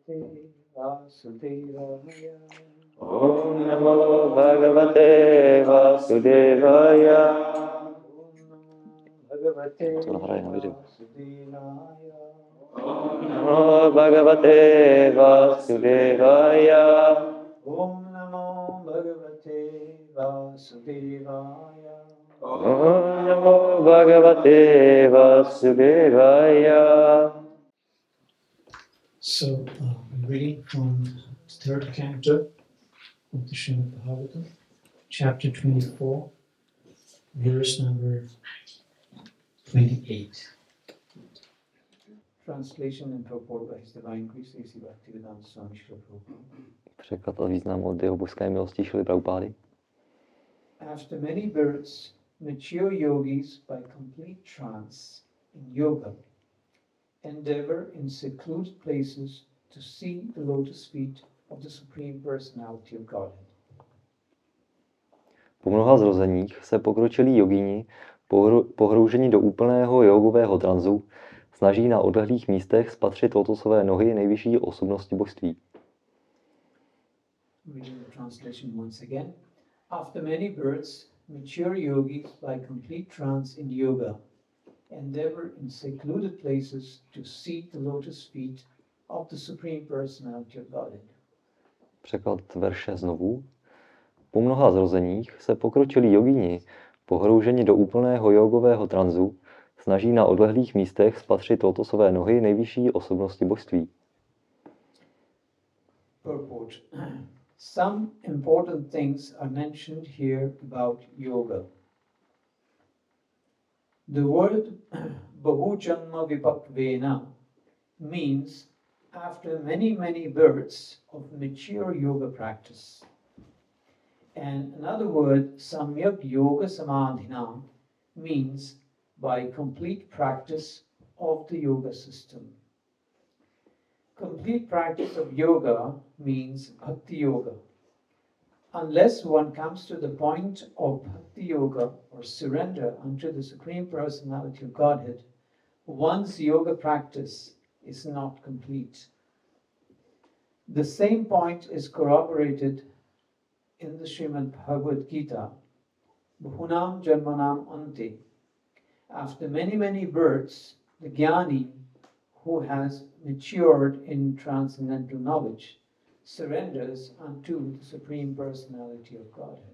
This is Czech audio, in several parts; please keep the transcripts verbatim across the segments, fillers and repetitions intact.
Bhagavate Vasudevaya. Om Namo Bhagavate Vasudevaya. Bhagavate To nahraje na video. Vasudevaya. Om Namo Bhagavate Vasudevaya. Om Namo Bhagavate Vasudevaya. Om Namo Bhagavate Vasudevaya. So, uh, I'm reading from the third canto of the Srimad Bhagavatam, chapter twenty-four, verse number twenty-eight. Translation and purport by His Divine Grace A C Bhaktivedanta Swami Srila Prabhupada. Překlad a význam od jeho božské milosti Šrily Prabhupády. After many births, mature yogis by complete trance in yoga endeavor in secluded places to see the lotus feet of the Supreme Personality of Godhead. Po mnoha zrozeních se pokročilí jogíni, pohrouženi do úplného jogového tranzu, snaží na odlehlých místech spatřit lotosové nohy nejvyšší osobnosti božství. Reading the translation once again. After many births, mature yogis by complete trance in yoga endeavor in secluded places to see the lotus feet of the Supreme Personality of Godhead. Překlad verše znovu. Po mnoha zrozeních se pokročilí jogíni, pohrouženi do úplného jogového tranzu, snaží na odlehlých místech spatřit lotosové nohy nejvyšší osobnosti božství. Purport. Some important things are mentioned here about yoga. The word Bahujanma Vipakvena means after many, many births of mature yoga practice. And another word, Samyak Yoga Samadhina, means by complete practice of the yoga system. Complete practice of yoga means bhakti yoga. Unless one comes to the point of bhakti yoga or surrender unto the Supreme Personality of Godhead, one's yoga practice is not complete. The same point is corroborated in the Srimad Bhagavad Gita, Bhunam Janmanam Ante. After many, many births, the Jnani, who has matured in transcendental knowledge, surrenders unto the Supreme Personality of Godhead.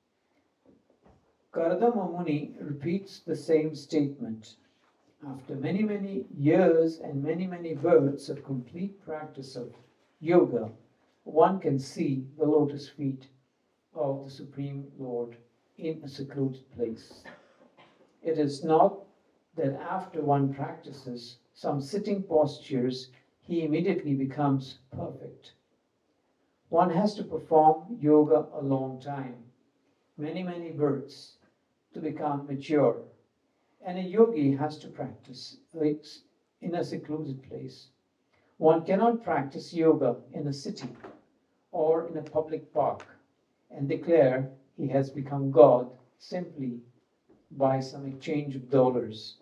Kardama Muni repeats the same statement. After many, many years and many, many births of complete practice of yoga, one can see the lotus feet of the Supreme Lord in a secluded place. It is not that after one practices some sitting postures, he immediately becomes perfect. One has to perform yoga a long time, many, many births, to become mature. And a yogi has to practice in a secluded place. One cannot practice yoga in a city or in a public park and declare he has become God simply by some exchange of dollars.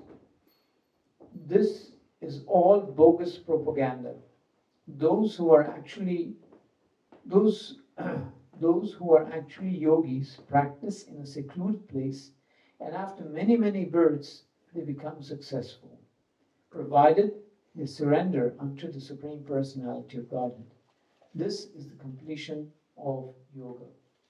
This is all bogus propaganda. Those who are actually those those who are actually yogis practice in a secluded place, and after many, many births, they become successful, provided they surrender unto the Supreme Personality of Godhead. This is the completion of yoga.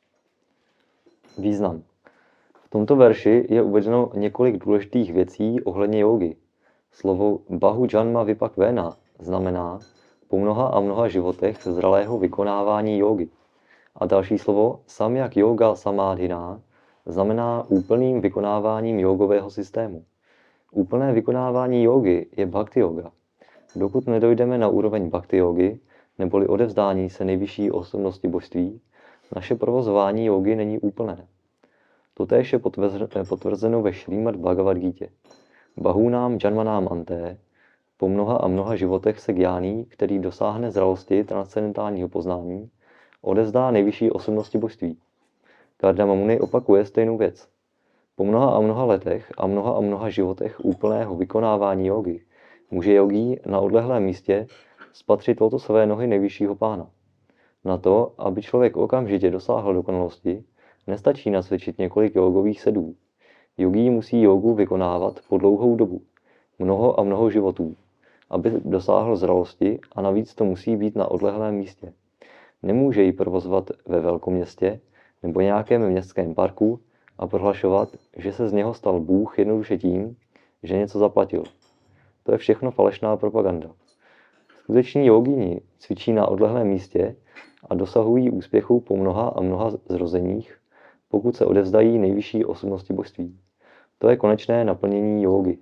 Význam. V tomto verši je uvedeno několik důležitých věcí ohledně jógy. Slovo Bahu Janma Vipakvena znamená po mnoha a mnoha životech zralého vykonávání jógy. A další slovo Samyak Yoga Samadhina znamená úplným vykonáváním jógového systému. Úplné vykonávání jógy je bhakti yoga. Dokud nedojdeme na úroveň bhakti yogy, neboli odevzdání se nejvyšší osobnosti božství, naše provozování jógy není úplné. Totéž je potvrzeno ve Šrímad Bhagavad Gítě. Bahunám Janmanám Anté, po mnoha a mnoha životech se Gjáný, který dosáhne zralosti transcendentálního poznání, odevzdá nejvyšší osobnosti božství. Kardama Muni opakuje stejnou věc. Po mnoha a mnoha letech a mnoha a mnoha životech úplného vykonávání jógy může jogí na odlehlém místě spatřit tohoto své nohy nejvyššího pána. Na to, aby člověk okamžitě dosáhl dokonalosti, nestačí nacvičit několik jogových sedů. Jogí musí jogu vykonávat po dlouhou dobu, mnoho a mnoho životů, aby dosáhl zralosti, a navíc to musí být na odlehlém místě. Nemůže ji provozovat ve velkoměstě nebo nějakém městském parku a prohlašovat, že se z něho stal Bůh jednoduše tím, že něco zaplatil. To je všechno falešná propaganda. Skuteční jogíni cvičí na odlehlém místě a dosahují úspěchu po mnoha a mnoha zrozeních, pokud se odevzdají nejvyšší osobnosti božství. To je konečné naplnění jógy.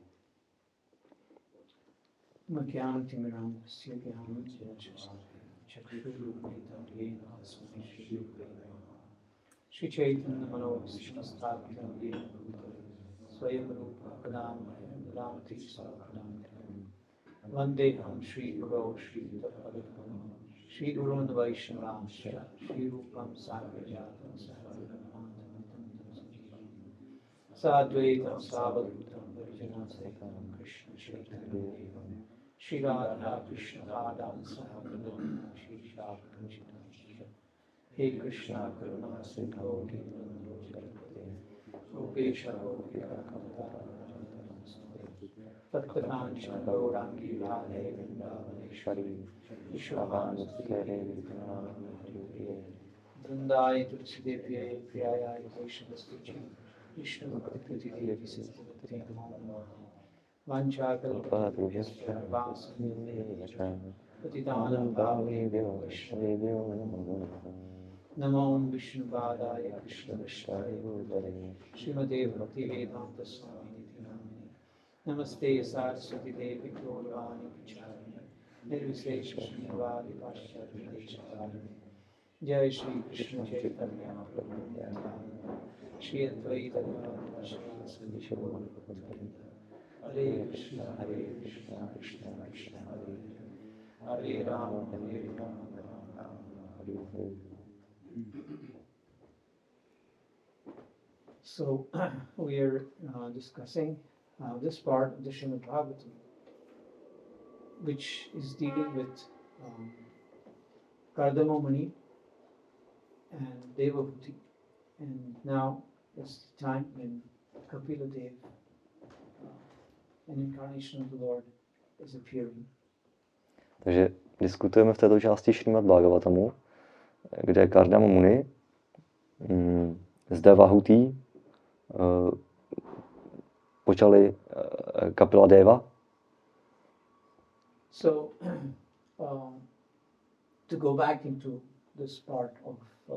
Shri Chaitanya Manavishna Sthapitam Yena Bhutale Swayam Rupa Kadam Radhamati Sarvadam Vandeham Shri Guru Shri Tapadam Shri Guru Vaishnava Shri Rupam Sarvajatam Sarvadam Sadvaitam Savadutam Varijana Saitam Krishna Chaitanya Devam Shri Radha Krishna Radham Sarvadam Shri Shakam Chitam He Krishna Karuna Sindho Dinando Jagapate Gopesha Gopika Kamata Tatkatancha Gaurangi Radhe Vrindavaneshwari Vishwavanuskere Vrindavaneshwari Vrindai Tulsidevye Priyaya Vaishnavistuchi Vishnu Bhakti Devi Siddhavati Namo Vancha Kalpatrujasya Vasani Patitanam Bhavevyo Vaishnavevyo Namo Namo Vishnu Padaya Krishna Vishaya Bhutale Srimate Bhaktivedanta Swami Niti Namani Namaste Saraswati Devi Gauravani Pacharani Nirvisesh Shrivadi Paschati Deshapani Jai Shri Krishna Chaitanya Prabhu Nityananda Shri Advaita Gadadhara Shri Sri Hare Krishna Hare Krishna Krishna Krishna Hare Hare Rama Hare Rama Rama Rama Hare Hare. So we are uh, discussing uh, this part of the Srimad Bhagavatam, which is dealing with um, Kardama Muni and Devahuti. And now is the time when Kapila Dev, uh, an incarnation of the Lord, is appearing. Takže diskutujeme v této části Šrímad Bhagavatamu, kde Kardama Muni mm, s Devahutí uh, počali uh, Kapila Deva. So, um, to go back into this part of uh,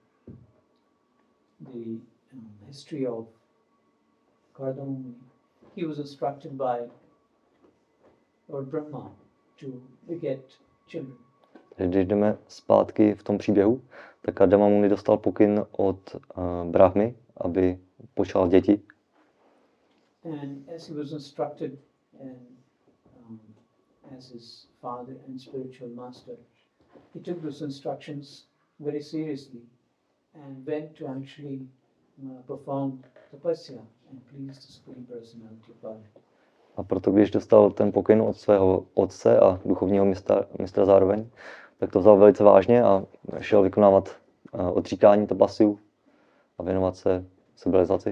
the um, history of Kardama Muni, he was instructed by Lord Brahma to beget children. Když jdeme zpátky v tom příběhu, tak Kardama Muni dostal pokyn od uh, Brahmy, aby počal děti. And as he was instructed and um, as his father and spiritual master, he took those instructions very seriously and went to actually uh, perform tapasya and please the Supreme Personality of God. A proto, když dostal ten pokyn od svého otce a duchovního mistra, mistra zároveň, tak to vzal velice vážně a šel vykonávat uh, odříkání tapasiu a věnovat se civilizaci.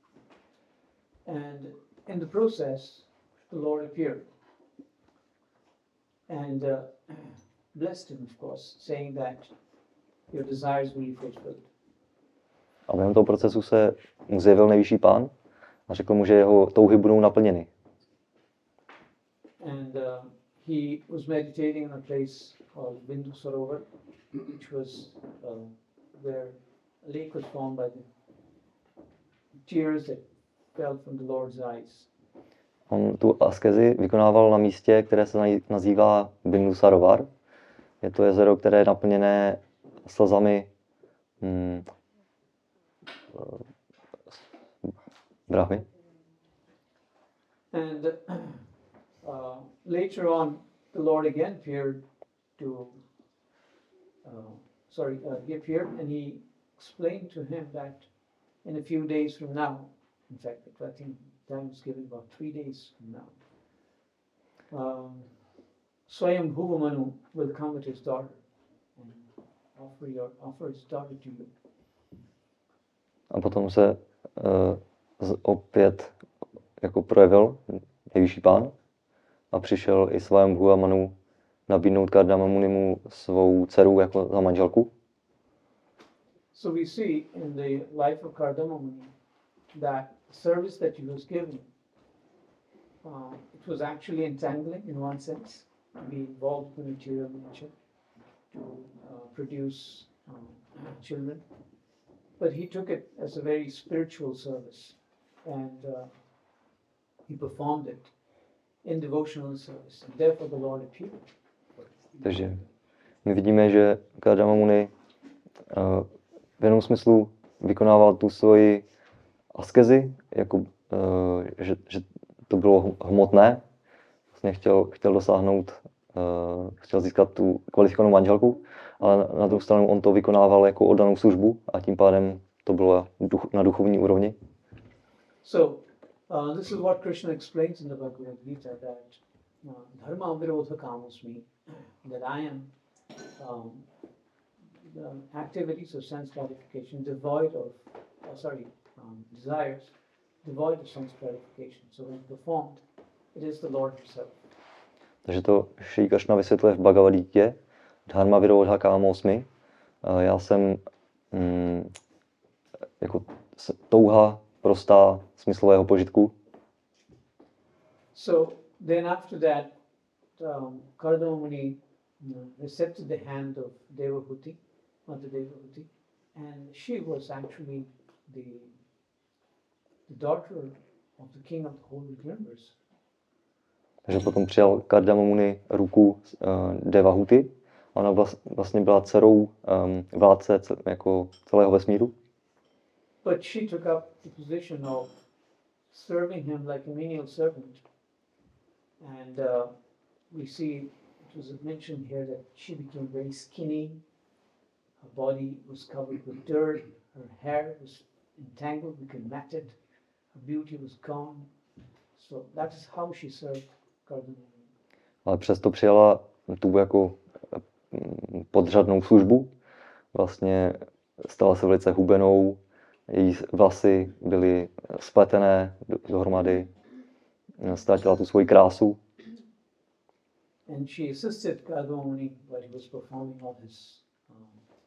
And in the process, the Lord appeared and uh, blessed him, of course, saying that your desires will be fulfilled. A během toho procesu se mu zjevil nejvyšší pán a řekl mu, že jeho touhy budou naplněny. And uh, he was meditating in a place called Bindu Sarovar, which was uh, where a lake was formed by the tears that fell from the Lord's eyes. On tu askezi vykonával na místě, které se nazývá Bindu Sarovar. Je to jezero, které je naplněné slzami hmm, Brahmy. And uh, later on, the Lord again appeared to, uh, sorry, uh, he appeared and he explained to him that in a few days from now, in fact, I think time is given about three days from now, um, Swayambhuva Manu will come with his daughter and offer, your, offer his daughter to you. A potom se uh, opět jako projevil nejvyšší pán a přišel i Swayambhuva Manu nabídnout Kardama Munimu svou dceru jako za manželku. So we see in the life of Kardama Muni that the service that he was given, uh, it was actually entangling in one sense, to be involved in material nature, to uh, produce um, children. But he took it as a very spiritual service, and uh, he performed it in devotional service, and therefore the Lord appeared. Takže my vidíme, že Kardama Muni uh, v jednom smyslu vykonával tu svoji askezi, jako, uh, že, že to bylo hmotné. Vlastně chtěl, chtěl dosáhnout, uh, chtěl získat tu kvalifikovanou manželku, ale na, na druhou stranu on to vykonával jako oddanou službu a tím pádem to bylo duch, na duchovní úrovni. So, uh, this is what Krishna explains in the Bhagavad Gita, that uh, dharma virodha kamosmi, that I am um, the activities of sense gratification devoid of, oh, sorry, um, desires, devoid of sense gratification. So when performed, it is the Lord himself. Takže to Šrí Kršna vysvětluje v Bhagavad Gitě, dharma virodha kamosmi. Já jsem mm, jako touha prostá smyslového požitku. So then after that, um, Kardama Muni you know, accepted the hand of Devahuti, Mother Devahuti, and she was actually the, the daughter of the king of the whole universe. Takže potom přijal Kardama Muni ruku uh, Devahuti. Ona vlastně byla dcerou um, vládce jako celého vesmíru. But she took up the position of serving him like a menial servant. And uh, we see, it was mentioned here that she became very skinny. Her body was covered with dirt. Her hair was entangled, became matted. Her beauty was gone. So that is how she served Kardama Muni. Ale přesto přijala tu jako podřadnou službu. Vlastně stala se velice hubenou, její vlasy byly spletené dohromady, ztratila tu svoji krásu. And she assisted Kardama Muni while he was performing all his um,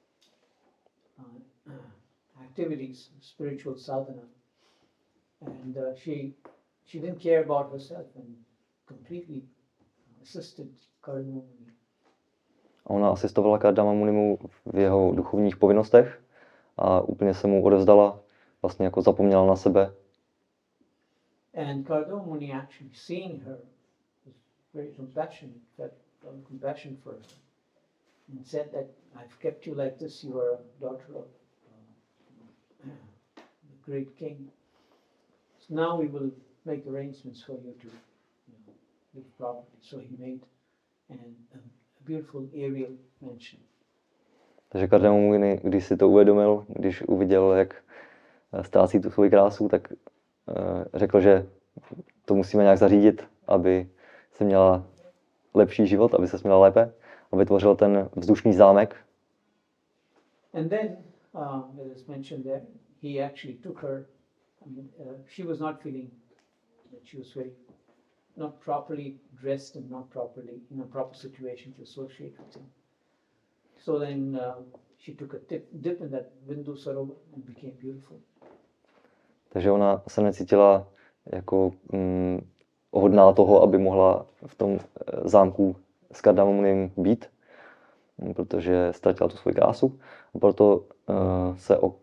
uh, activities, spiritual sadhana. And uh, she she didn't care about herself and completely assisted Kardama Muni. Ona asistovala Kardama Munimu v jeho duchovních povinnostech a úplně se mu odevzdala, vlastně jako zapomněla na sebe. And Kardama Muni actually seeing her was very compassionate, felt compassion for her, and said that I've kept you like this. You are a daughter of uh, the great king. So now we will make arrangements for you to you know, live properly. So he made an, a beautiful aerial mansion. Takže Kardama Muni, když si to uvědomil, když uviděl, jak ztrácí tu svoji krásu, tak uh, řekl, že to musíme nějak zařídit, aby se měla lepší život, aby se směla lépe, a vytvořil ten vzdušný zámek. And then, uh, as is mentioned there, he actually took her. I mean, uh, she was not feeling that she was very not properly dressed and not properly in a proper situation to associate with him. So then uh, she took a dip, dip in that Bindu Sarovar and became beautiful. Takže ona se necítila jako mm, hodná toho, aby mohla v tom zámku s Kardama Munim být, protože ztratila tu svoji krásu. A proto uh, se o, uh,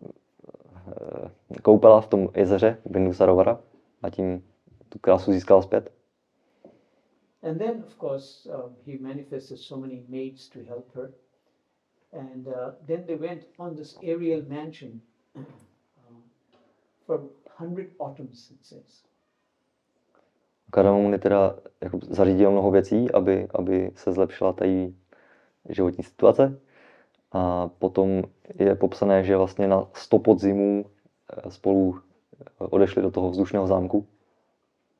koupala v tom jezeře Bindu Sarovara a tím tu krásu získala zpět. And then, of course, um, he manifested so many maids to help her. And uh, then they went on this aerial mansion uh, for hundred autumns, it says. Kardama Muni teda jako zařídil mnoho věcí, aby, aby se zlepšila ta její životní situace. A potom je popsané, že vlastně na sto podzimů spolu odešli do toho vzdušného zámku.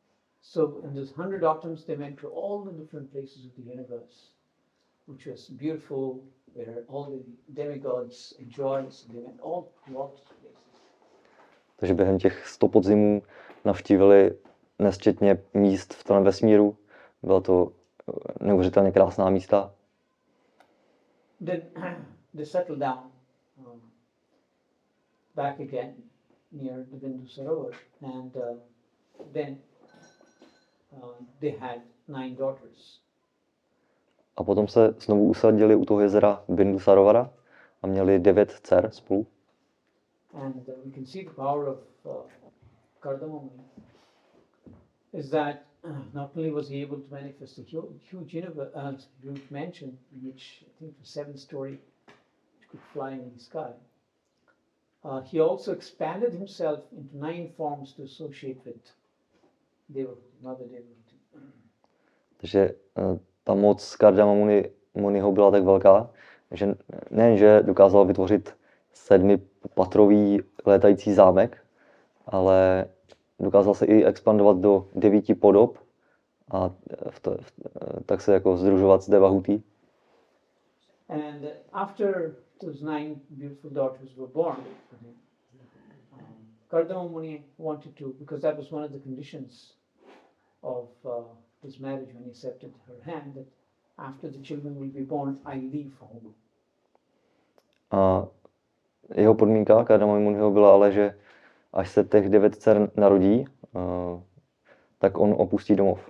So in those hundred autumns, they went to all the different places of the universe, which was beautiful, where all the demigods enjoyed. So they went all to all these places. Takže během těch sto podzimů navštívili nesčetně míst v celém vesmíru. Byla to neuvěřitelně krásná místa. Then they settled down um, back again near the Bindu Sarovar, and uh, then uh, they had nine daughters. A potom se znovu usadili u toho jezera Bindu Sarovara a měli devět dcer spolu. And uh, we can see the power of uh, Kardama Muni is that uh, not only was he able to manifest a huge, huge, universe, uh, huge mansion, which I think was seven story, which could fly in the sky, uh, he also expanded himself into nine forms to associate with Devahuti, Mother Devahuti. Takže uh, ta moc Kardama Muni, Muniho byla tak velká, že nejenže dokázal vytvořit sedmipatrový létající zámek, ale dokázal se i expandovat do devíti podob a v to, v, tak se jako sdružovat s Devahuti. And after those nine beautiful daughters were born, um, Kardama Muni wanted to, because that was one of the conditions of uh, his marriage when he accepted her hand, that after the children will be born, I leave home. A jeho podmínka Kardama Muniho byla ale, že až se těch devět dcer narodí, uh, tak on opustí domov.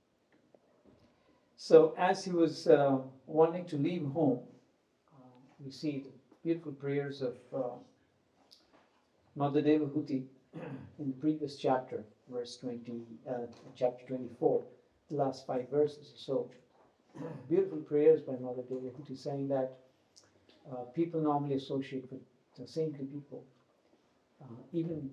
So as he was uh, wanting to leave home, uh, we see the beautiful prayers of uh, Mother Devahuti in the previous chapter, verse twenty, uh, chapter twenty-four, the last five verses. So beautiful prayers by Mother Devahuti saying that uh, people normally associate with the saintly people, uh, even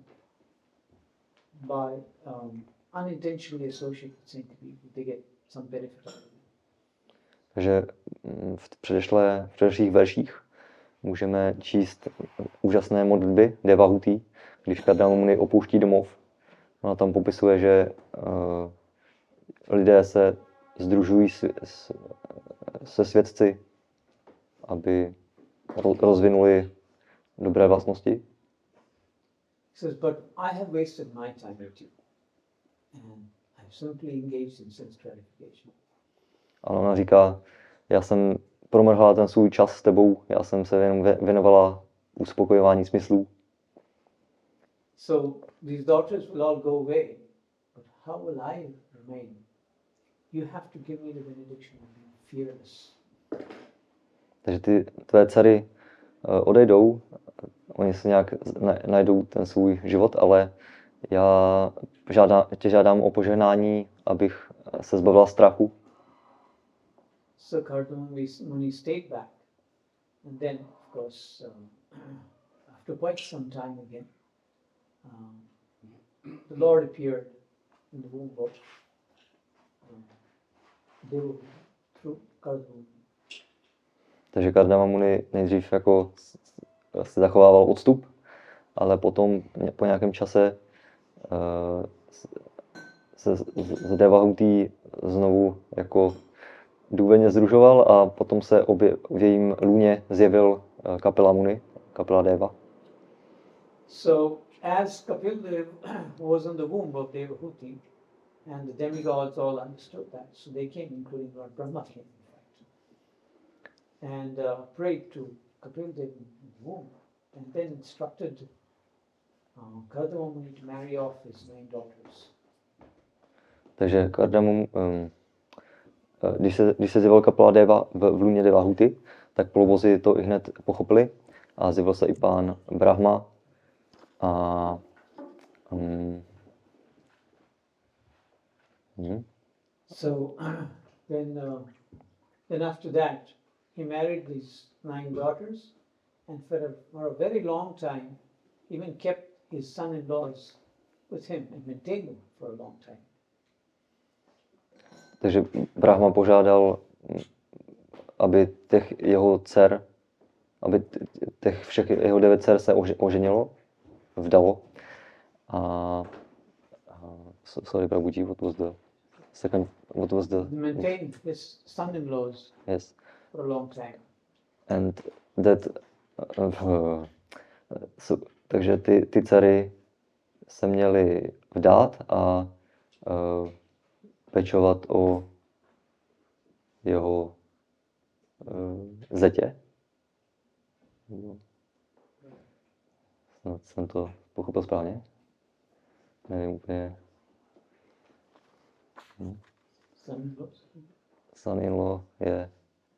by um, unintentionally associate with saintly people, they get some benefit out of it. Takže v předešlé, v předešlých verších můžeme číst úžasné modlitby Devahuti, když Kardama Muni opouští domov. Ona tam popisuje, že uh, lidé se sdružují s, s, se svědci, aby rozvinuli dobré vlastnosti. Says, but I have wasted my time with you, and I've simply engaged in sense gratification. Ale ona říká, já jsem promrhala ten svůj čas s tebou, já jsem se jenom věnovala uspokojování smyslů. So these daughters will all go away, but how will I remain? You have to give me the benediction of being fearless. Takže ty tvé dcery uh, odejdou, oni si nějak najdou ten svůj život, ale já žádám, tě žádám o požehnání, abych se zbavila strachu. So Kardama Muni stayed back, and then, of course, um, after quite some time again, um, the Lord appeared in the womb of um, Devahuti through Kardama Muni. Takže Kardama Muni nejdřív jako se zachovával odstup, ale potom po nějakém čase uh, se z Devahuti znovu jako důvěrně združoval a potom se obě, v jejím lůně zjevil Kapila Muni, Kapila Deva. So as Kapil Dev was in the womb of Devahuti, and the demigods all understood that, so they came, including Lord Brahma came, in fact, and uh, prayed to Kapil Dev in the womb, and then instructed uh, Kardama Muni to marry off his nine daughters. Takže Kardama um, Když se, když se zjevil Kapila Deva v, v lůně Devahuti, tak polobozi to i hned pochopili a zjevil se i pán Brahma a um, hmm. So uh, then, uh, then after that, he married these nine daughters, and for a, for a very long time, even kept his son-in-laws with him and maintained them for a long time. Takže Brahma požádal, aby těch jeho dcer, aby těch všech jeho devět dcer se oženilo, vdalo. A so- sorry, Prabhuji, what was the second, what was the, Maintained his son-in-laws yes, for a long time. and that, uh, uh, so, takže ty, ty dcery se měly vdát a uh, pečovat o jeho uh, zetě. Snad jsem to pochopil správně. Nevím úplně. Hm. Son-in-laws. Son-in-law je...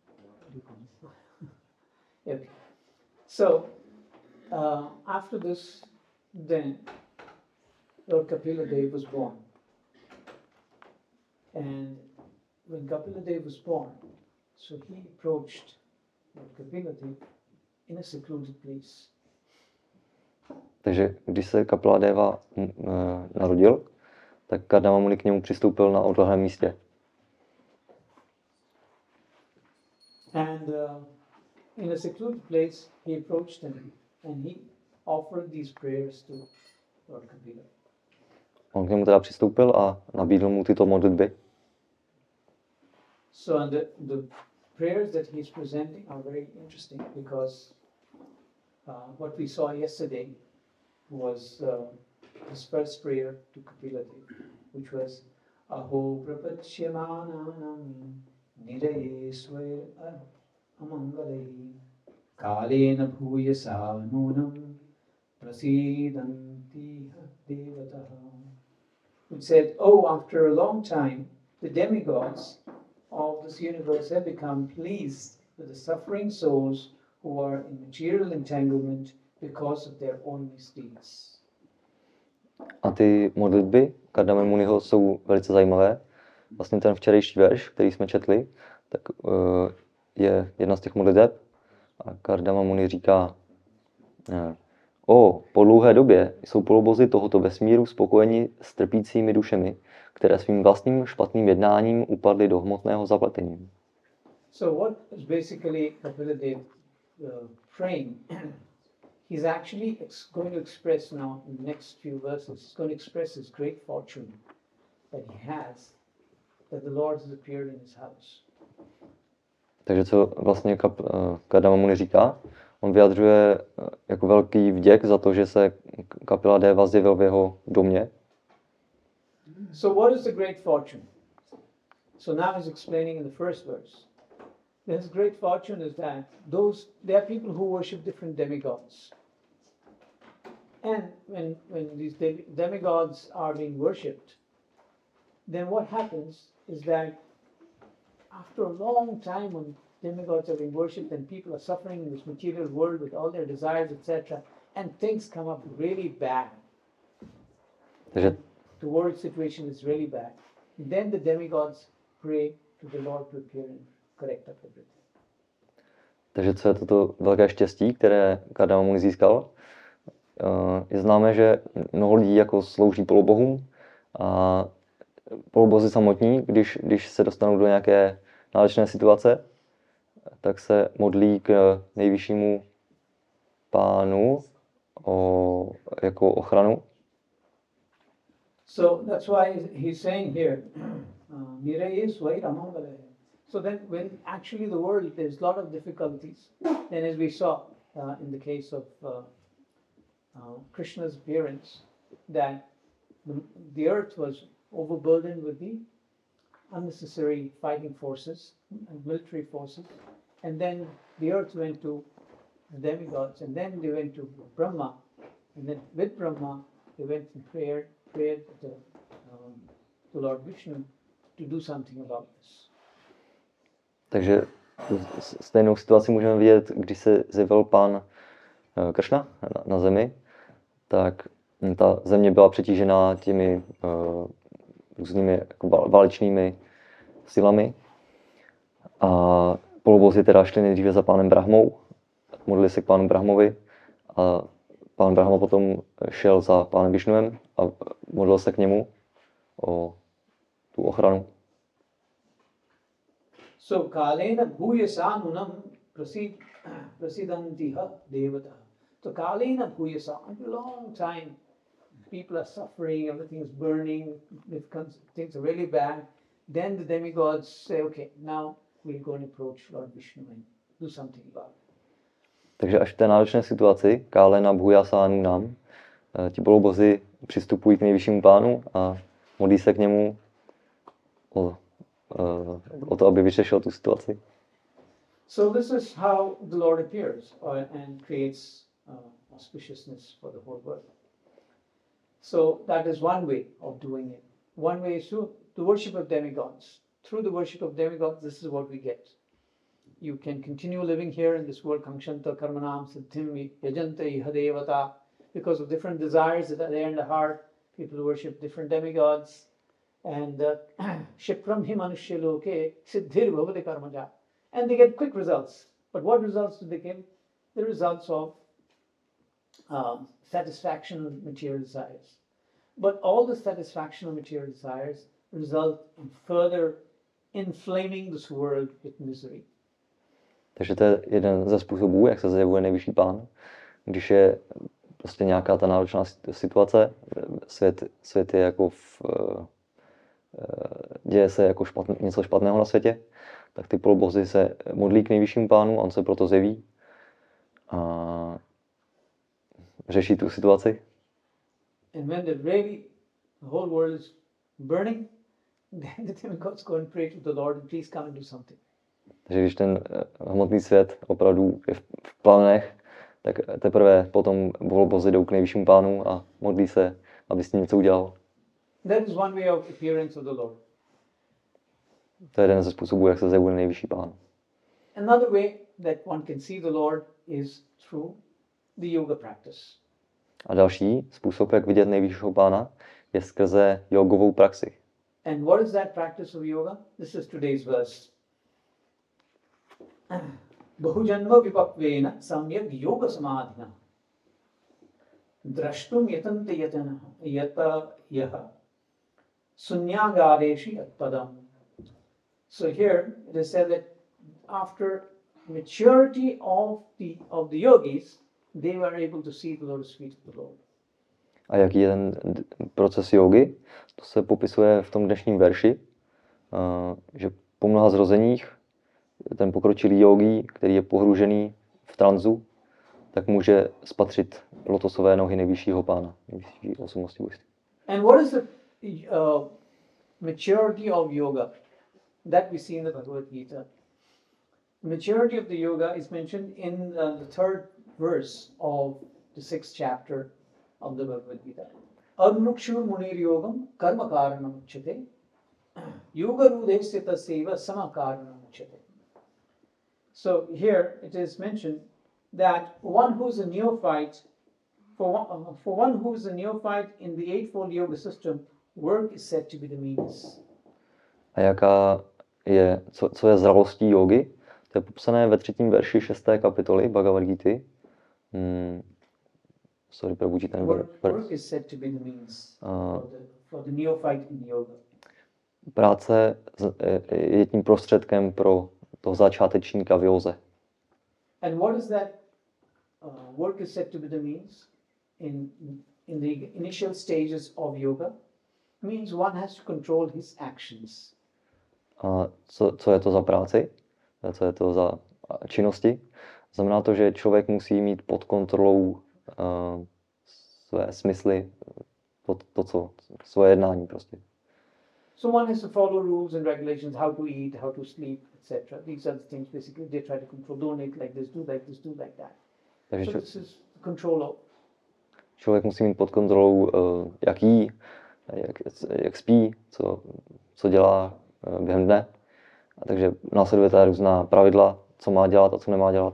Okay. So, uh, after this, then Lord Kapila Dev was born. And when Kapila Dev was born, so he approached Lord Kapila Dev in a secluded place. Takže když se Kapila Deva uh, narodil, tak Kardama Muni k němu přistoupil na odlehlém místě. And uh, in a secluded place, he approached him and he offered these prayers to Lord Kapila. On k němu teda přistoupil a nabídl mu tyto modlitby. So and the, the prayers that he's presenting are very interesting because uh, what we saw yesterday was uh, his first prayer to Kapila Dev, which was Aho prapachyamananam niraye sway amangalai kalena bhuyasa nunam prasidanti devataha. It said, oh, after a long time, the demigods of this universe have become pleased with the suffering souls who are in material entanglement because of their own misdeeds. A ty modlitby Kardama Muniho jsou velice zajímavé. Vlastně ten včerejší verš, který jsme četli, tak uh, je jedna z těch modliteb. A Kardama Muni říká, uh, o, po dlouhé době jsou polobozy tohoto vesmíru spokojeni s trpícími dušemi, které svým vlastním špatným jednáním upadly do hmotného zapletení. So what is basically Kapila Dev uh, praying? He's actually ex- going to express now in the next few verses, he's going to express his great fortune that he has, that the Lord has appeared in his house. Takže co vlastně Kap, uh, Kardama Muni říká? On vyjadřuje uh, jako velký vděk za to, že se Kapila Deva zjevil v jeho domě. So what is the great fortune? So now he's explaining in the first verse. His great fortune is that those there are people who worship different demigods. And when when these de- demigods are being worshipped, then what happens is that after a long time when demigods are being worshipped and people are suffering in this material world with all their desires, et cetera, and things come up really bad. Takže The world situation is really bad. Then the demigods pray to the Lord to appear and correct up everything. Takže co je toto velké štěstí, které Kardama Muni získal? Je známé, že mnoho lidí jako slouží polobohům a polobozi samotní, když, když se dostanou do nějaké náročné situace, tak se modlí k nejvyššímu pánu o, jako ochranu. So that's why he's saying here, Niraye Swai Ramangale. So then when actually the world, there's a lot of difficulties, then as we saw uh, in the case of uh, uh, Krishna's appearance, that the, the earth was overburdened with the unnecessary fighting forces and military forces, and then the earth went to the demigods, and then they went to Brahma, and then with Brahma they went and prayed, prayed to, um, to Lord Vishnu to do something about this. Takže stejnou situaci můžeme vidět, když se zjevil pán Kršna na, na zemi, tak ta země byla přetížená těmi uh, různými jako válečnými silami. A polobozi teda šli nejdříve za pánem Brahmou, modlili se k pánu Brahmovi a pán Brahma potom šel za pánem Višnuem a modlil se k němu o tu ochranu. So kalena bhuyasa nunam prasid prasidantiha devata. So kalena bhuyasa, after a long time, people are suffering, everything is burning, things are really bad, then the demigods say, okay, now we'll go and approach Lord Vishnu and do something about it. Takže až v té náročné situaci, Kálena Bhujasánu nám, ti polobozi přistupují k nejvyššímu pánu a modlí se k němu o, o to, aby vyřešil tu situaci. So this is how the Lord appears uh, and creates uh, auspiciousness for the whole world. So that is one way of doing it. One way is through the worship of demigods. Through the worship of demigods, this is what we get. You can continue living here in this world, Kankshanta Karmanam Siddhim Yajanta Ihadevata, because of different desires that are there in the heart. People worship different demigods. And Shipram hi manushya loke siddhir bhavati karmaja. And they get quick results. But what results do they give? The results of um, satisfaction of material desires. But all the satisfaction of material desires result in further inflaming this world with misery. Takže to je jeden ze způsobů, jak se zjevuje nejvyšší pán. Když je prostě nějaká ta náročná situace, svět, svět je jako v, děje se jako špatn, něco špatného na světě, tak ty polobozi se modlí k nejvyššímu pánu, on se proto zjeví a řeší tu situaci. And when the really the whole world is burning, then the demigods go and pray to the Lord and please come and do something. Takže když ten hmotný svět opravdu je v, v planech, tak teprve potom polobozi jdou k nejvyššímu pánu a modlí se, aby s ním něco udělal. That is one way of appearance of the Lord. To je jeden ze způsobů, jak se zjevuje nejvyšší pán. Another way that one can see the Lord is through the yoga practice. A další způsob, jak vidět nejvyššího pána, je skrze jogovou praxi. And what is that practice of yoga? This is today's verse. Bahujanma vipakvena samyak yoga samadhina drashtum yatante yatana yata yaha sunyagareshi atpadam. So here it is said that after maturity of the of the yogis, they were able to see the lotus feet of the Lord. A jaký je ten proces jogy? To se popisuje v tom dnešním verši, že po mnoha zrozeních ten pokročilý yogi, který je pohružený v tranzu, tak může spatřit lotosové nohy nejvyššího pána, nejvyšší osobnosti božství. And what is the uh, maturity of yoga that we see in the Bhagavad Gita? The maturity of the yoga is mentioned in uh, the third verse of the sixth chapter of the Bhagavad Gita. Admukshur munir yogam karma karanam uchyate yoga rudesthita seva sama karanam uchyate. So here it is mentioned that one who is a neophyte, for one, uh, for one who is a neophyte in the eightfold yoga system, work is said to be the means. A jaká je, co, co je zralostí jogy? To je popsané ve třetím verši šesté kapitoly Bhagavad Gity. Hmm. Sorry, probudí ten Work, verš. work is said to be the means Uh, for, the, for the neophyte in yoga. Práce je tím prostředkem pro toho začátečníka v józe. And what is that uh, work is said to be the means in in the initial stages of yoga? Means one has to control his actions. A co, co je to za práci? Co je to za činnosti? Znamená to, že člověk musí mít pod kontrolou uh, své smysly, to, to co, svoje jednání prostě. So one has to follow rules and regulations, how to eat, how to sleep, et cetera. These are the things basically they try to control. Don't eat like this, do like this, do like that. Takže so this is control of. Člověk musí mít pod kontrolou, uh, jak jí, jak, jak spí, co, co dělá uh, během dne. A takže následuje ta různá pravidla, co má dělat a co nemá dělat.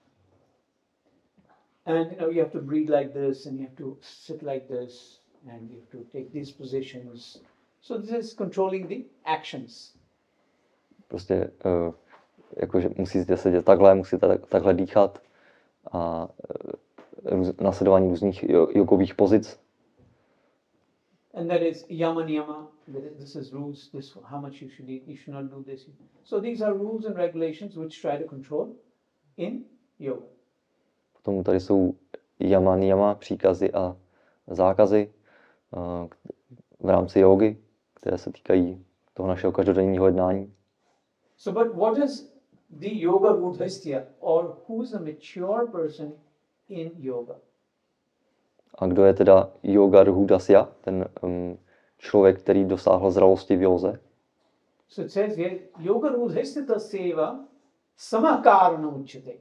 And you know, you have to breathe like this, and you have to sit like this, and you have to take these positions. So this is controlling the actions. Prostě uh, jakože musíte sedět takhle, musíte tak, takhle dýchat a uh, růz, následování různých jogových pozic. And that is yama niyama. This is rules. This how much you should eat. You should not do this. So these are rules and regulations which try to control in yoga. Potom tady jsou yama niyama, příkazy a zákazy, uh, v rámci jógy, které se týkají toho našeho každodenního jednání. So, but what is the yoga rudhastya, or who is a mature person in yoga? A kdo je teda yoga rudhasya, ten um, člověk, který dosáhl zralosti v józe? So it says here, yoga rudhastya seva samakaranam uchyate.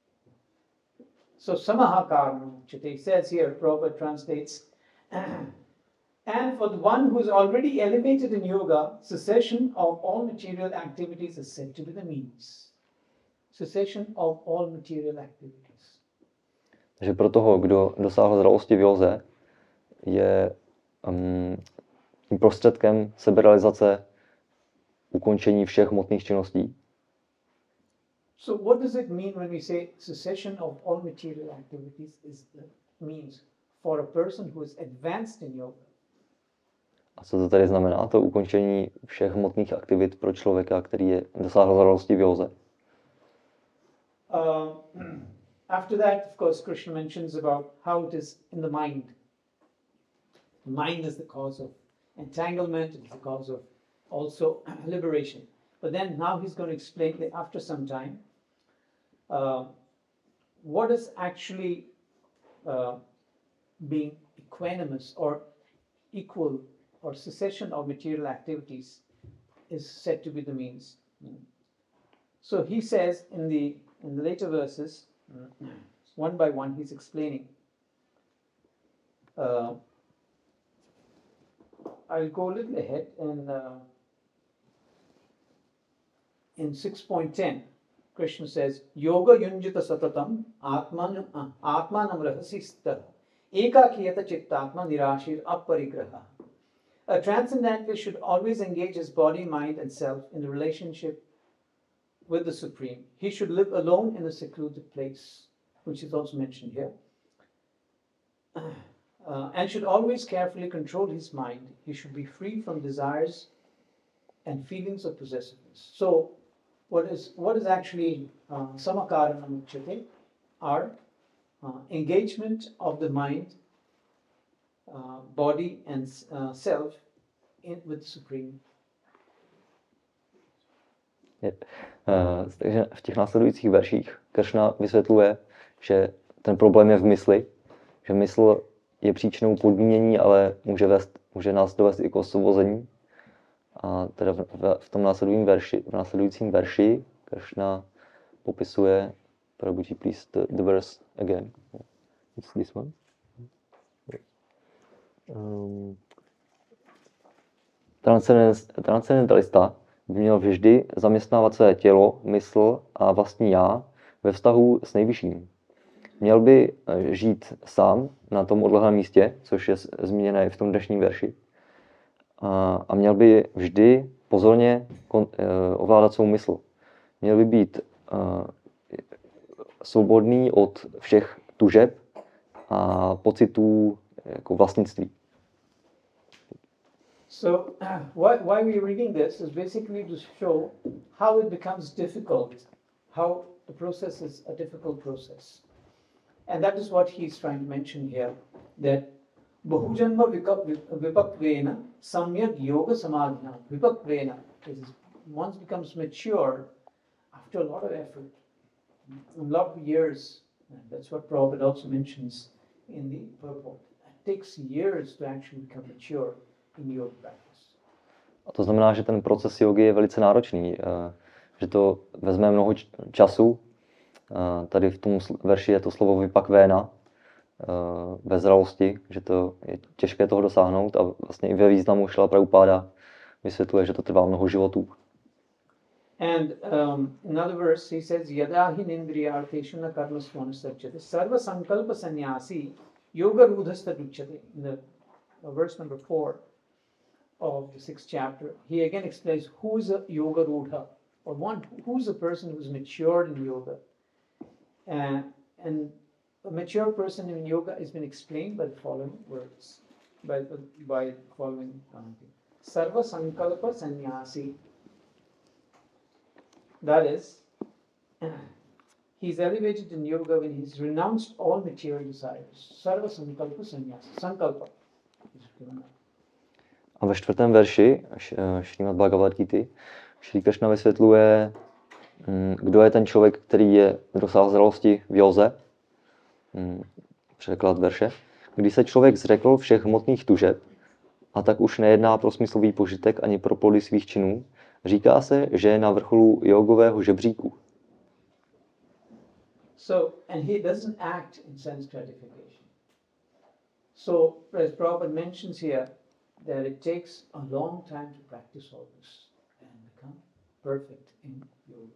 So samakaranam uchyate. It says here, Prabhupada translates, and for the one who is already elevated in yoga, cessation of all material activities is said to be the means. Cessation of all material activities. Takže pro toho, kdo dosáhl zralosti v józe, je um, tím prostředkem seberealizace ukončení všech hmotných činností. So what does it mean when we say cessation of all material activities is the means for a person who is advanced in yoga? A co to tady znamená, to ukončení všech hmotných aktivit pro člověka, který je dosáhl zralosti v józe? Uh, after that, of course, Krishna mentions about how it is in the mind. Mind is the cause of entanglement, it's the cause of also liberation. But then now he's going to explain that after some time, uh, what is actually uh, being equanimous or equal or cessation of material activities is said to be the means. So he says in the in the later verses, one by one, he's explaining. Uh, I'll go a little ahead and uh, in six point ten, Krishna says, Yoga yunjita satatam atman atmanam rahasista ekakiyata chittatma nirashir aparigraha. A transcendentalist should always engage his body, mind, and self in the relationship with the Supreme. He should live alone in a secluded place, which is also mentioned here, uh, and should always carefully control his mind. He should be free from desires and feelings of possessiveness. So, what is what is actually uh, samakaranam uchyate are uh, engagement of the mind, uh, body, and uh, self in, with the Supreme. Je, uh, takže v těch následujících verších Kršna vysvětluje, že ten problém je v mysli, že mysl je příčinou podmínění, ale může, vést, může nás dovést i k osvobození. A teda v, v, v tom následujícím verši, v následujícím verši Kršna popisuje, Prabhuji, please, the, the verse again. It's this one. Um, transcendentalista by měl vždy zaměstnávat své tělo, mysl a vlastní já ve vztahu s nejvyšším. Měl by žít sám na tom odlehlém místě, což je zmíněné v tom dnešním verši. A, a měl by vždy pozorně kon, eh, ovládat svou mysl. Měl by být eh, svobodný od všech tužeb a pocitů jako vlastnictví. So, uh, why, why we're reading this is basically to show how it becomes difficult, how the process is a difficult process. And that is what he's trying to mention here, that Bahujanma Vipakvena Samyak Yoga Samadhina. Vipakvena is once becomes mature after a lot of effort, a lot of years. And that's what Prabhupada also mentions in the purport. It takes years to actually become mature in yoga practice. A to znamená, že ten proces jogy je velice náročný, že to vezme mnoho času. Tady v tom verši je to slovo vipakvéna, ve zralosti, že to je těžké toho dosáhnout, a vlastně i ve významu Šrila Prabhupáda vysvětluje, že to trvá mnoho životů. And um, another verse he says yadahi nindriyarteshu na karmasvana sajjate sarva sankalpa sannyasi yoga rudhasta duchyate. In the uh, verse number four of the sixth chapter, he again explains who is a yoga rudha, or one who is a person who is matured in yoga. Uh, and a mature person in yoga has been explained by the following words, by the by following um, sarva sankalpa sannyasi. That is, he's elevated in yoga when he's renounced all material desires. Sarva sankalpa sannyasa. Sankalpa is given up. A ve čtvrtém verši Šrímad Bhagavad Gita Šrí Kršna vysvětluje, kdo je ten člověk, který je dosáhl zralosti v józe. Překlad verše. Když se člověk zřekl všech hmotných tužeb a tak už nejedná pro smyslový požitek ani pro plody svých činů, říká se, že je na vrcholu jogového žebříku. So, and he doesn't act in sense gratification. So, as Prabhupada mentions here, that it takes a long time to practice all this and become perfect in yoga.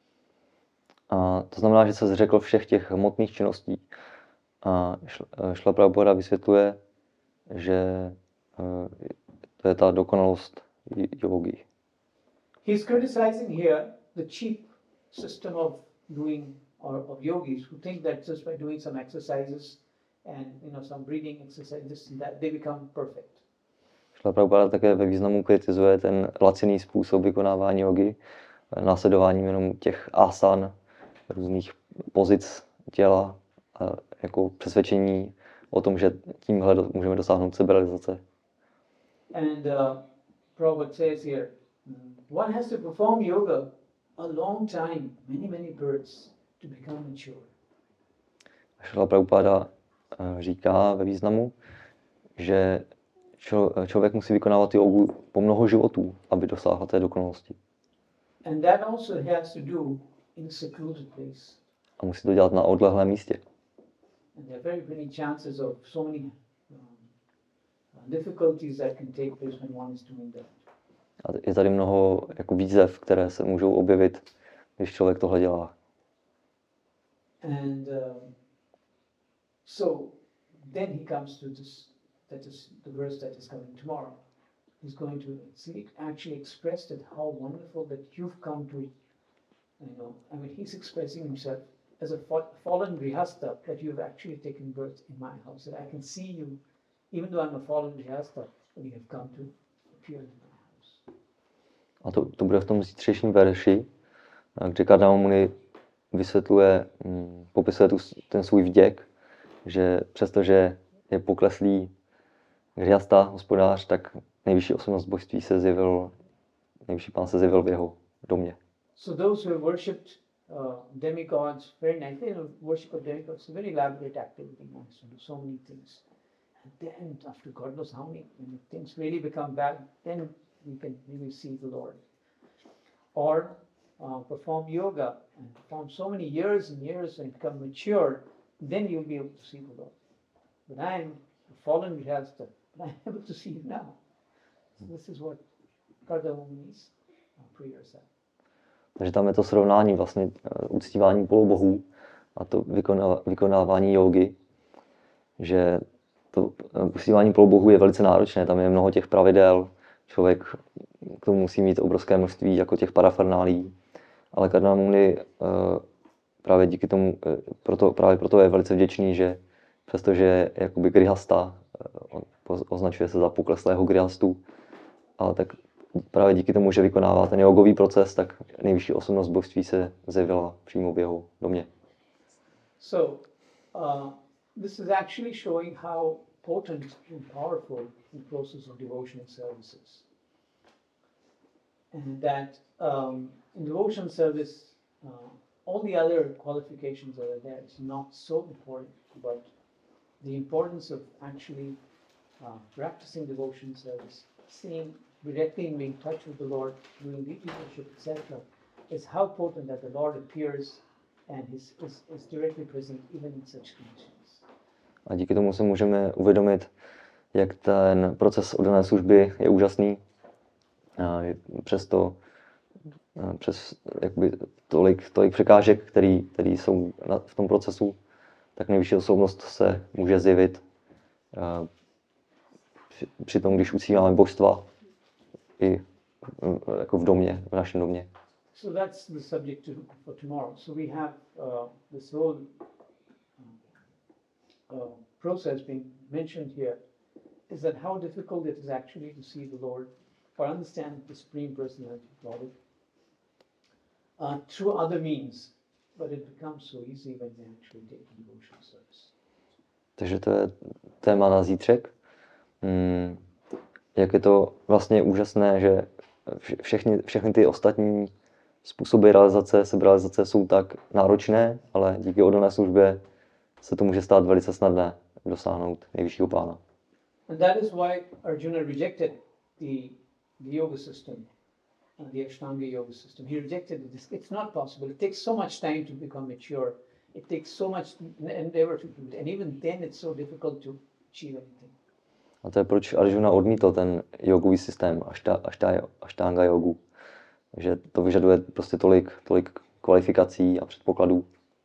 A to znamená, že se zřekl všech těch hmotných činností. A Šla Prabhupada vysvětluje, že to je ta dokonalost jógy. He's criticizing here the cheap system of doing or of yogis who think that just by doing some exercises and you know some breathing exercises that they become perfect. Šla Prabhupada také ve významu kritizuje ten laciný způsob vykonávání jogy, následováním jenom těch asan, různých pozic těla, a jako přesvědčení o tom, že tímhle do, můžeme dosáhnout seberealizace. And uh, Prabhupada says here, one has to perform yoga a long time, many, many births, to become mature. Šla Prabhupada říká ve významu, že člo, člověk musí vykonávat jogu po mnoho životů, aby dosáhl té dokonalosti. And that also has to do in a secluded place. A musí to dělat na odlehlém místě. And there are very many chances of so many um, difficulties that can take place when one is doing that. A je tady mnoho jako výzev, které se můžou objevit, když člověk tohle dělá. And um, so then he comes to this, that is the verse that is coming tomorrow. He's going to see it actually expressed it how wonderful that you've come to, you know, I mean he's expressing himself as a fallen grihastha, that you've actually taken birth in my house, that I can see you, even though I'm a fallen grihastha, that you have come to appear in my house. A to, to bude v tom zítřejším verši, kde Karnama Muni vysvětluje, hm, popisuje tu, ten svůj vděk, že přestože je pokleslý grihastha, hospodář, tak nejvyšší osobnost božství se zjevil, nejvyšší pán se zjevil v jeho domě. So those who have worshipped uh, demigods very nicely, you know, worship of demigods is a very elaborate activity, one has to do so many things. And then after God knows how many, when things really become bad, then we can really see the Lord. Or uh, perform yoga and perform so many years and years and become mature, then you'll be able to see the Lord. But I'm a fallen grihastha, but I'm able to see you now. So this is what Karnama Muni's uh, prayers are. Takže tam je to srovnání vlastně uctívání polobohů a to vykonávání jógy, že to uctívání polobohů je velice náročné, tam je mnoho těch pravidel, člověk k tomu musí mít obrovské množství jako těch parafernálí, ale Karnama Muni právě díky tomu, proto, právě proto je velice vděčný, že přestože je jakoby grihasta, označuje se za pokleslého grihastu, ale tak právě díky tomu, že vykonává ten jogový proces, tak nejvyšší osobnost božství se zjevila přímo v jeho domě. So, uh, this is actually showing how potent and powerful the process of devotion and service is. And that um, in devotion service, uh, all the other qualifications that are there is not so important, but the importance of actually uh, practicing devotion service, seeing directly in being in touch with the Lord, doing deity worship, et cetera, is how potent that the Lord appears and is, is, is directly present even in such conditions. A díky tomu se můžeme uvědomit, jak ten proces oddané služby je úžasný. Přesto přes jakoby tolik, tolik překážek, který, který jsou na, v tom procesu, tak nejvyšší osobnost se může zjevit při, při tom, když uctíváme božstva i jako v domě, v našem domě. So that's the subject to, for tomorrow. So we have uh, this whole uh, process being mentioned here, is that how difficult it is actually to see the Lord or understand the Supreme Personality of God uh, through other means, but it becomes so easy when we actually take devotional service. Takže to je téma na zítřek. Hmm, jak je to vlastně úžasné, že vše- všechny, všechny ty ostatní způsoby realizace, seberealizace jsou tak náročné, ale díky oddané službě se to může stát velice snadné dosáhnout nejvyššího pána. And that is why Arjuna rejected the, the yoga system, uh, the Ashtanga yoga system. He rejected it. It's, it's not possible. It takes so much time to become mature. It takes so much endeavor to do it. And even then it's so difficult to achieve anything. A to je proč Arjuna odmítl ten jogový systém, aštá, aštá, aštanga jogu. Že to vyžaduje prostě tolik, tolik kvalifikací a předpokladů.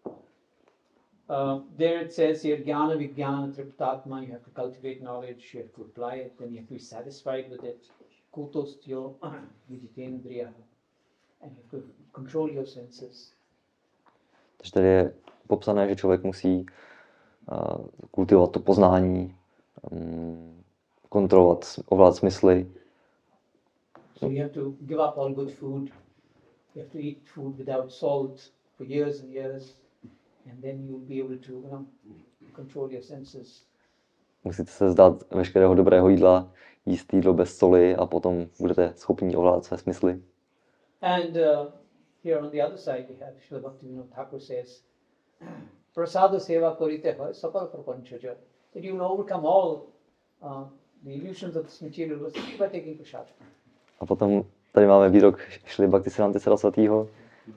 Uh, there it says here, jnana vijnana triptatma, you have to cultivate knowledge, you have to apply it, then you have to be satisfied with it. Kutostyo viditendriya, and you have to control your senses. Takže tady je popsané, že člověk musí uh, kultivovat to poznání, um, kontrolovat, ovládat smysly. So you have to give up all good food. You have to eat food without salt for years and years, and then you'll be able to, you know, control your senses. Musíte se vzdát veškerého dobrého jídla, jíst jídlo bez soli a potom budete schopni ovládat své smysly. And uh, here on the other side we have Srila Bhaktivinoda Thakur says, prasada seva korite hoy sakal prapanchaja. That you will overcome all uh, the illusions of this material world by taking prasad. A potom tady máme výrok Šrily Bhaktisiddhanta Sarasvatýho,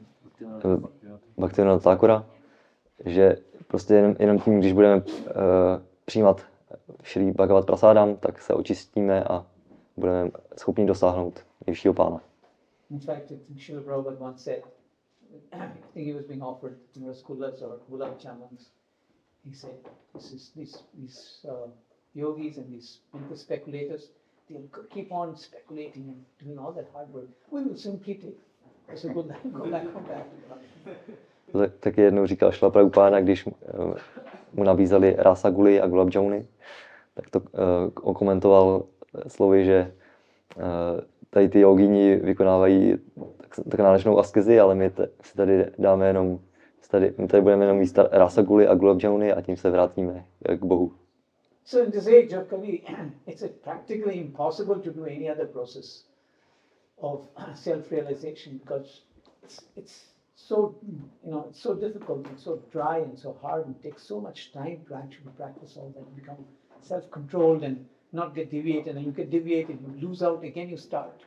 Bhaktivinoda Thakura, že prostě jenom, jenom tím, když budeme uh, přijímat Šrý Bhagavad Prasádam, tak se očistíme a budeme schopni dosáhnout nejvyššího pána. In fact, Srila Prabhupada once said, I think he was being offered you know, rasgullas or gulab jamans. He said, this is, these, these uh, yogis and these mental speculators, they'll keep on speculating and doing all that hard work. We will simply take. I said, go back, go back, go back. Tak, taky jednou říkal Šrila Prabhupáda, když uh, mu nabízeli rasaguli a gulab jamuny, tak to uh, okomentoval slovy, že uh, tady ty jogini vykonávají tak, tak náročnou askezi, ale my t- si tady dáme jenom, tady, my tady budeme jenom jíst rasaguli a gulab jamuny a tím se vrátíme k Bohu. So in this age of Kali, it's practically impossible to do any other process of self-realization because it's, it's so, you know, it's so difficult and so dry and so hard and takes so much time to actually practice all that, become self-controlled and not get deviated, and you get deviated, you lose out, again you start.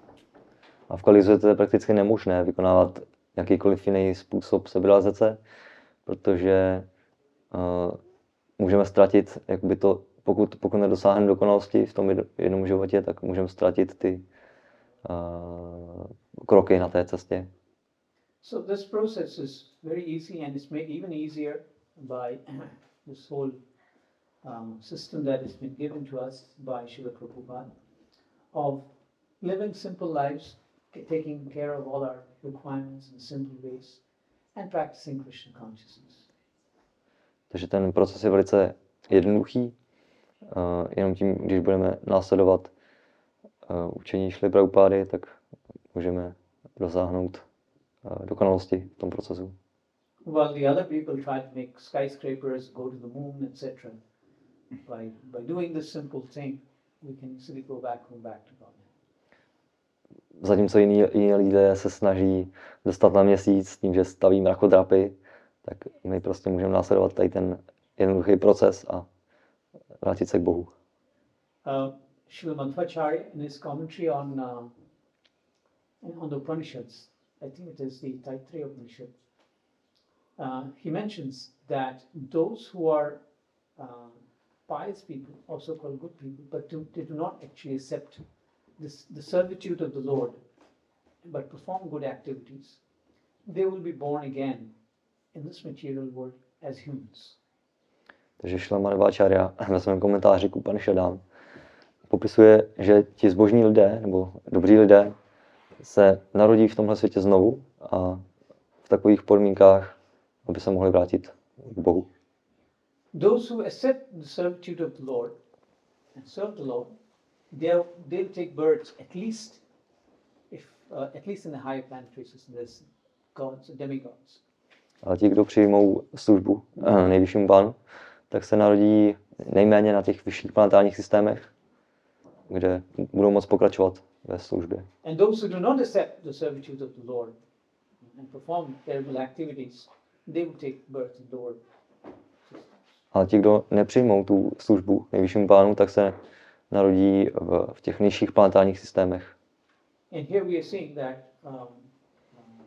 A v Kalizu je to prakticky nemožné vykonávat jakýkoliv jiný způsob seberealizace, protože uh, můžeme ztratit, jakoby to, pokud, pokud nedosáhneme dokonalosti v tom jednom životě, tak můžeme ztratit ty uh, kroky na té cestě. So this process is very easy and it's made even easier by this whole um, system that has been given to us by Srila Prabhupada of living simple lives, taking care of all our requirements in simple ways and practicing Krishna consciousness. Takže ten proces je velice jednoduchý, uh, jenom tím, když budeme následovat uh, učení Šrily Prabhupády, tak můžeme dosáhnout uh, dokonalosti v tom procesu. While the other people try to make skyscrapers, go to the moon, et cetera, by by doing this simple thing, we can easily go back, go back to God. Zatímco jiní, jiní lidé se snaží dostat na měsíc tím, že staví mrakodrapy, tak my prostě můžeme následovat tady ten jednoduchý proces a vrátit se k Bohu. Uh, Srila Madhvacharya in his commentary on uh, on the Upanishads, I think it is the Taittiriya Upanishad, uh, he mentions that those who are uh, pious people, also called good people, but do, they do not actually accept this, the servitude of the Lord, but perform good activities, they will be born again in this material world as humans. Takže Šrila Madhvacharya ve svém komentáři k Upanishadám popisuje, že ti zbožní lidé, nebo dobří lidé, se narodí v tomhle světě znovu a v takových podmínkách, aby se mohli vrátit k Bohu. Those who accept the servitude of the Lord and serve the Lord, they'll, they'll take birth at least, if uh, at least in the higher planetary system, there's gods, demigods. Ale ti, kdo přijmou službu nejvyššímu pánu, tak se narodí nejméně na těch vyšších planetárních systémech kde budou moct pokračovat ve službě. And those who do not accept the servitude of the Lord and perform terrible activities, they will take birth in lower systems. A ti, kdo nepřijmou tu službu nejvyššímu pánu, tak se narodí v, v těch nižších planetárních systémech. And here we are seeing that um, um,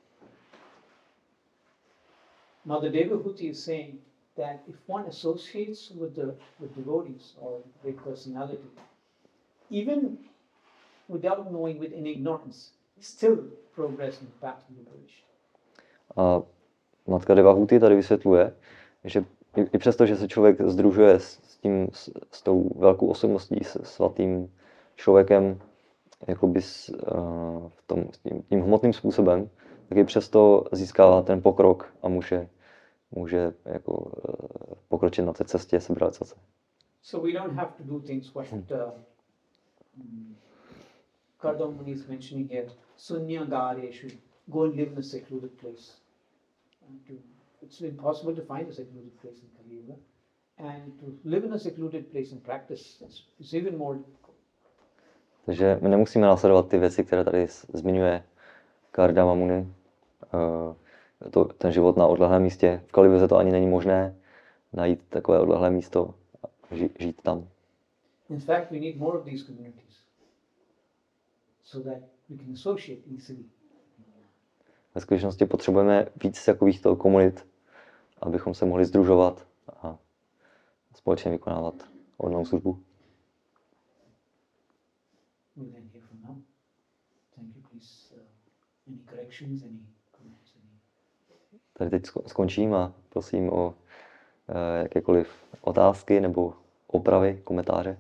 Mother Devahuti is saying that if one associates with the with devotees or great personality, even without knowing, with in ignorance, still progress in the path of liberation. A matka Devahuti tady vysvětluje, že i, i přesto, že se člověk sdružuje s, s tím, s, s tou velkou osobností, s svatým člověkem, jakoby s, uh, v tom, s tím, tím hmotným způsobem, tak i přesto získává ten pokrok a může, může jako, uh, pokročit na té cestě seberealizace. So we don't have to do things what uh, um, Kardama Muni is mentioning here. Sunyagareshu, go and live in a secluded place. And to, it's impossible to find a secluded place in Kali Yuga. And to live in a secluded place and practice is, is even more difficult. Takže my nemusíme následovat ty věci, které tady zmiňuje Kardama Muni. Uh, to, ten život na odlehlém místě. V Kali Yuze to ani není možné najít takové odlehlé místo a ži, žít tam. In fact, we need more of these communities so that we can associate easily. Ve skutečnosti potřebujeme víc takovýchto komunit, abychom se mohli sdružovat a společně vykonávat odlnou službu. We'll end here for now. Thank you, please. Uh, any corrections, any comments? Any... Tady teď skončím a prosím o uh, jakékoliv otázky nebo opravy, komentáře.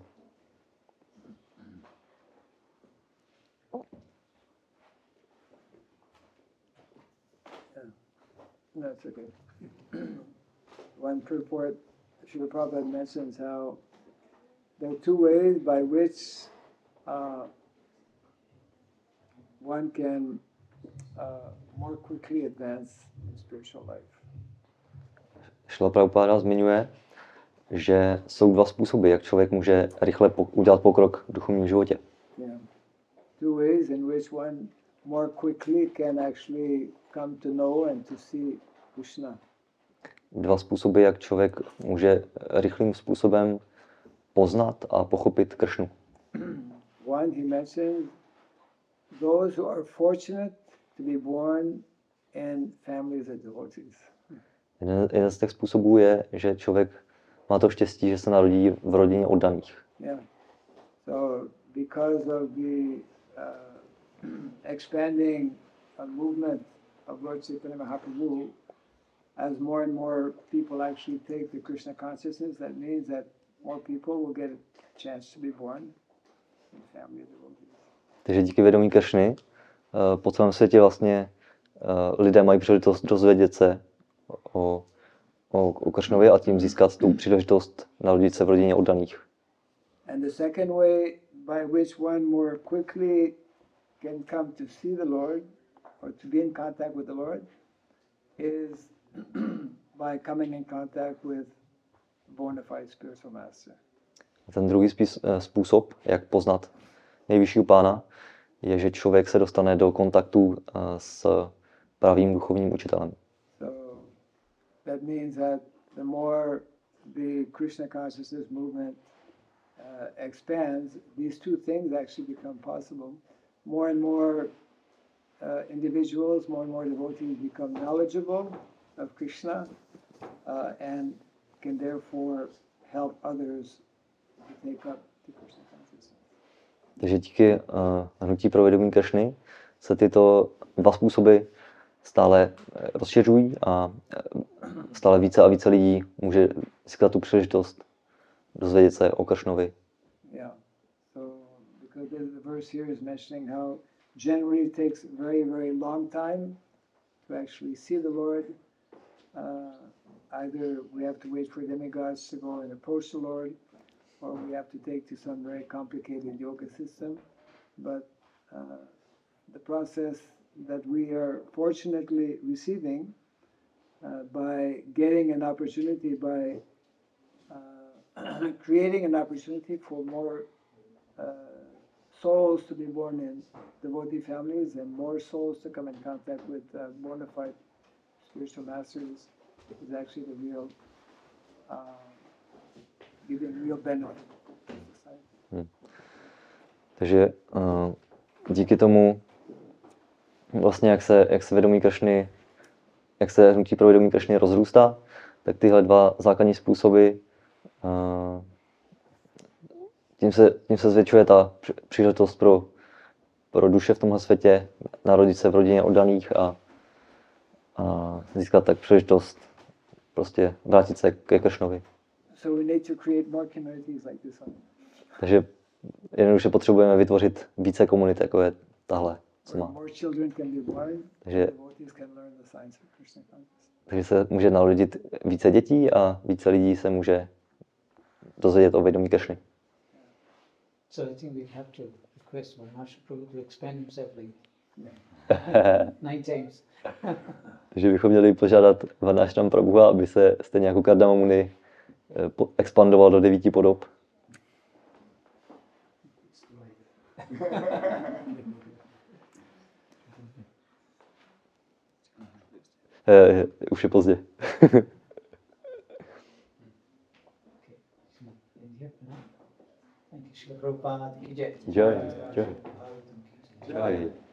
No, it's okay. One purport, Srila Prabhupada mentions how there are two ways by which uh, one can uh, more quickly advance in spiritual life. Šrila Prabhupada zmiňuje, že jsou dva způsoby, jak člověk může rychle po- udělat pokrok v duchovním životě. Yeah. Two ways in which one more quickly can actually come to know and to see Krishna. Dva způsoby, jak člověk může rychlým způsobem poznat a pochopit Kršnu. One, he mentioned those who are fortunate to be born in families of devotees. Jeden, jeden z těch způsobů je, že člověk má to štěstí, že se narodí v rodině oddaných. Yeah. So because of the uh, expanding uh, movement of Lord Chaitanya Mahaprabhu, as more and more people actually take the Krishna consciousness, that means that more people will get a chance to be born in family of devotees. Takže díky vědomí Kršny uh, po celém světě vlastně uh, lidé mají příležitost dozvědět se o, o, o Kršnovi a tím získat tu příležitost narodit se v rodině oddaných. And the second way by which one more quickly can come to see the Lord or to be in contact with the Lord is by coming in contact with a bona fide spiritual master. A ten druhý spís, způsob, jak poznat nejvyššího pána, je, že člověk se dostane do kontaktu uh, s pravým duchovním učitelem. So that means that the more the Krishna consciousness movement uh, expands, these two things actually become possible. More and more uh, individuals, more and more devotees become knowledgeable of Krishna uh, and can therefore help others to take up the Krishna consciousness. Takže díky uh, hnutí pro vědomí Kršny se tyto dva způsoby stále rozšiřují a stále více a více lidí může získat tu příležitost dozvědět se o Kršnovi. Yeah. So because the, the verse here is mentioning how generally it takes very, very long time to actually see the Lord. Uh, either we have to wait for demigods to go and approach the Lord, or we have to take to some very complicated yoga system. But uh, the process that we are fortunately receiving uh, by getting an opportunity, by uh, creating an opportunity for more uh, souls to be born in devotee families and more souls to come in contact with uh, bona fide spiritual masters is actually the real uh, giving real benefit to society. Hmm. Takže uh, díky tomu, vlastně jak se, jak se vědomí Kršny, jak se hnutí pro vědomí Kršny rozrůstá, tak tyhle dva základní způsoby, uh, tím, se, tím se zvětšuje ta příležitost pro, pro duše v tomhle světě, narodit se v rodině oddaných a, a získat tak příležitost prostě vrátit se ke Kršnovi. So we need to create more communities like this one. Takže jednoduše potřebujeme vytvořit více komunit, jako je tahle, co má. More children can be born, Takže, devotees can learn the science of Krishna consciousness. takže se může narodit více dětí a více lidí se může dozvědět o vědomí Kršny. So I think we have to request Maharshi Prabhu to expand himself like nine times. Takže bychom měli požádat Varnášram Prabhuha, aby se stejně jako Kardama Muni eh, po- expandoval do devíti podob. Eh, už je pozdě. Thank you, Srila Prabhupada. Ki jai. Jai, jai. Jai. Jai.